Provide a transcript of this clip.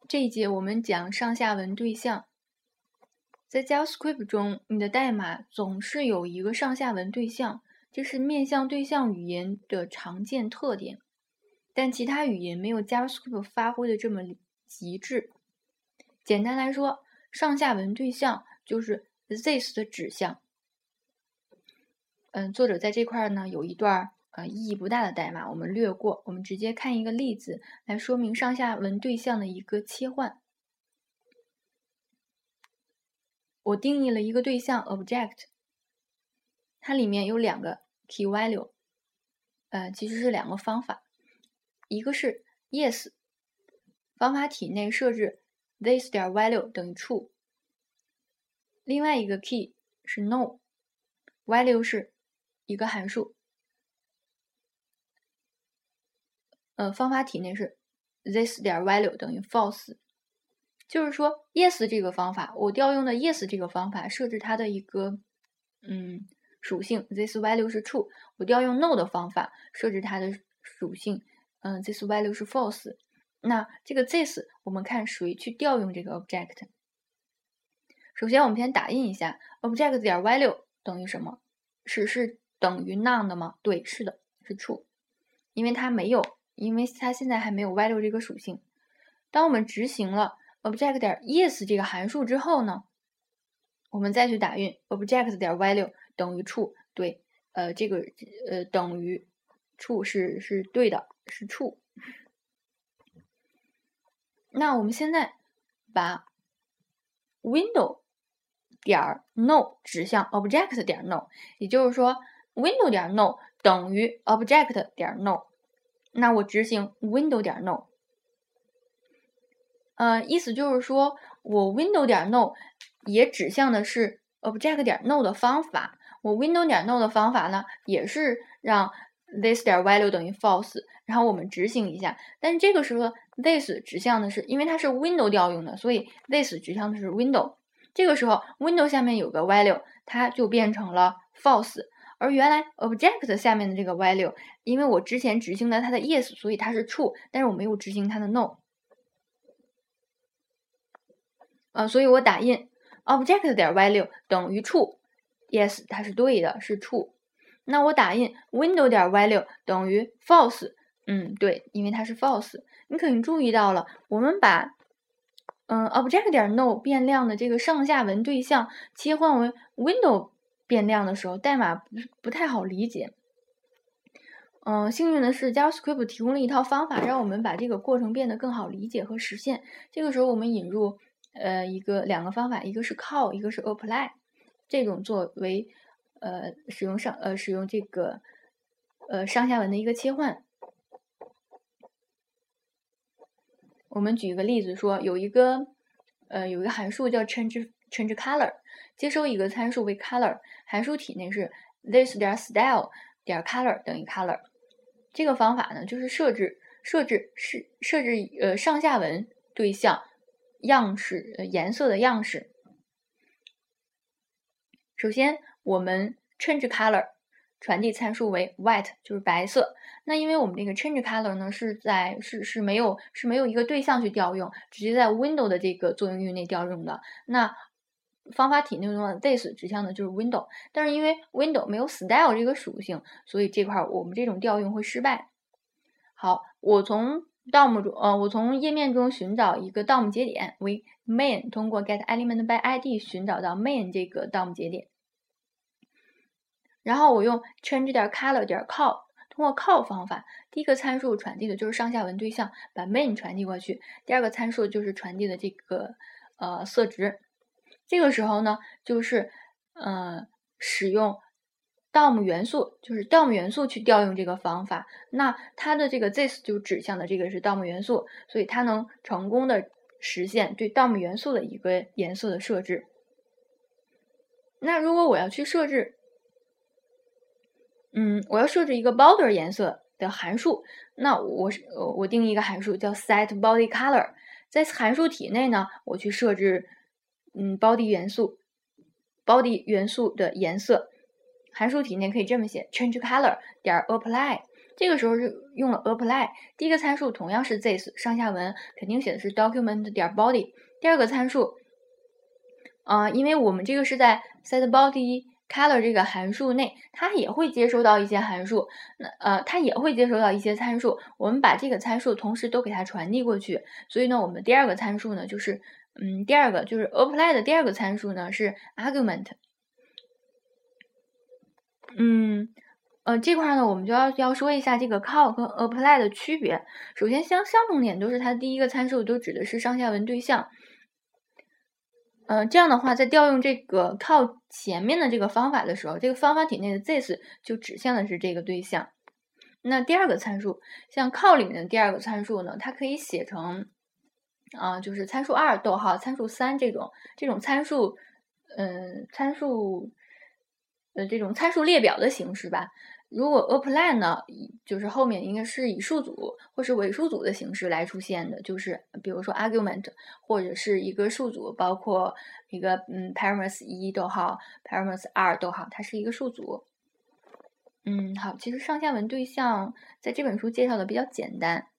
这一节我们讲上下文对象。在 JavaScript 中，你的代码总是有一个上下文对象，这是面向对象语言的常见特点。但其他语言没有 JavaScript 发挥的这么极致。简单来说，上下文对象就是 this 的指向。作者在这块呢有一段意义不大的代码，我们略过，我们直接看一个例子来说明上下文对象的一个切换。我定义了一个对象 object， 它里面有两个 key value， 其实是两个方法，一个是 yes， 方法体内设置 this 点 value 等于 true， 另外一个 key 是 no， value 是一个函数，方法体内是 this 点 value 等于 false。就是说 yes 这个方法，我调用的 yes 这个方法设置它的一个属性 this value 是 true， 我调用 no 的方法设置它的属性this value 是 false。那这个 this 我们看谁去调用这个 object。首先我们先打印一下 object 点 value 等于什么？是等于 none 的吗？对，是的，是 true， 因为它现在还没有 value 这个属性。当我们执行了object 点 yes 这个函数之后呢，我们再去打印 object 点 value 等于 true， 对，这个等于 true 是对的，是 true。那我们现在把 window 点 no 指向 object 点 no， 也就是说 window 点 no 等于 object 点 no， 那我执行 window 点 no。意思就是说我 window 点 no 也指向的是 object 点 no 的方法，我 window 点 no 的方法呢也是让 this 点 value 等于 false， 然后我们执行一下，但是这个时候 this 指向的是，因为它是 window 调用的，所以 this 指向的是 window， 这个时候 window 下面有个 value， 它就变成了 false， 而原来 object 下面的这个 value， 因为我之前执行了它的 yes， 所以它是 true， 但是我没有执行它的 no。所以我打印 object 点 value 等于 true， yes 它是对的，是 true。那我打印 window 点 value 等于 false， 对，因为它是 false。你肯定注意到了，我们把object 点 no 变量的这个上下文对象切换为 window 变量的时候，代码不太好理解。幸运的是 JavaScript 提供了一套方法，让我们把这个过程变得更好理解和实现。这个时候我们引入两个方法，一个是 call， 一个是 apply， 这种作为使用这个上下文的一个切换。我们举一个例子说，有一个函数叫 change color， 接收一个参数为 color， 函数体内是 this 点 style 点 color 等于 color。这个方法呢，就是设置上下文对象样式颜色的样式。首先我们 change color 传递参数为 white， 就是白色。那因为我们这个 change color 呢是没有一个对象去调用，直接在 window 的这个作用域内调用的。那方法体内中的 this 指向的就是 window， 但是因为 window 没有 style 这个属性，所以这块我们这种调用会失败。好，我从页面中寻找一个 DOM 节点为 main， 通过 get element by id 寻找到 main 这个 DOM 节点，然后我用 change 点 color 点 call， 通过 call 方法，第一个参数传递的就是上下文对象，把 main 传递过去，第二个参数就是传递的这个色值。这个时候呢，就是使用DOM 元素，就是 DOM 元素去调用这个方法，那它的这个 this 就指向的这个是 DOM 元素，所以它能成功的实现对 DOM 元素的一个颜色的设置。那如果我要去设置我要设置一个 border 颜色的函数，那我定义一个函数叫 setBodyColor， 在函数体内呢，我去设置body 元素的颜色。函数体内可以这么写 change color 点 apply， 这个时候是用了 apply， 第一个参数同样是 this， 上下文肯定写的是 document 点 body。第二个参数，因为我们这个是在 setBody color 这个函数内，它也会接收到一些函数，它也会接收到一些参数，我们把这个参数同时都给它传递过去。所以呢，我们第二个参数呢，就是第二个就是 apply 的第二个参数呢是 argument。这块呢，我们就要说一下这个 call 和 apply 的区别。首先，相同点都是它第一个参数都指的是上下文对象。这样的话，在调用这个 call 前面的这个方法的时候，这个方法体内的 this 就指向的是这个对象。那第二个参数，像 call 里面的第二个参数呢，它可以写成就是参数2逗号参数3这种参数，这种参数列表的形式吧。如果 apply 呢，就是后面应该是以数组或是尾数组的形式来出现的，就是比如说 argument 或者是一个数组，包括一个parameter 1逗号 parameter 2逗号，它是一个数组。好，其实上下文对象在这本书介绍的比较简单。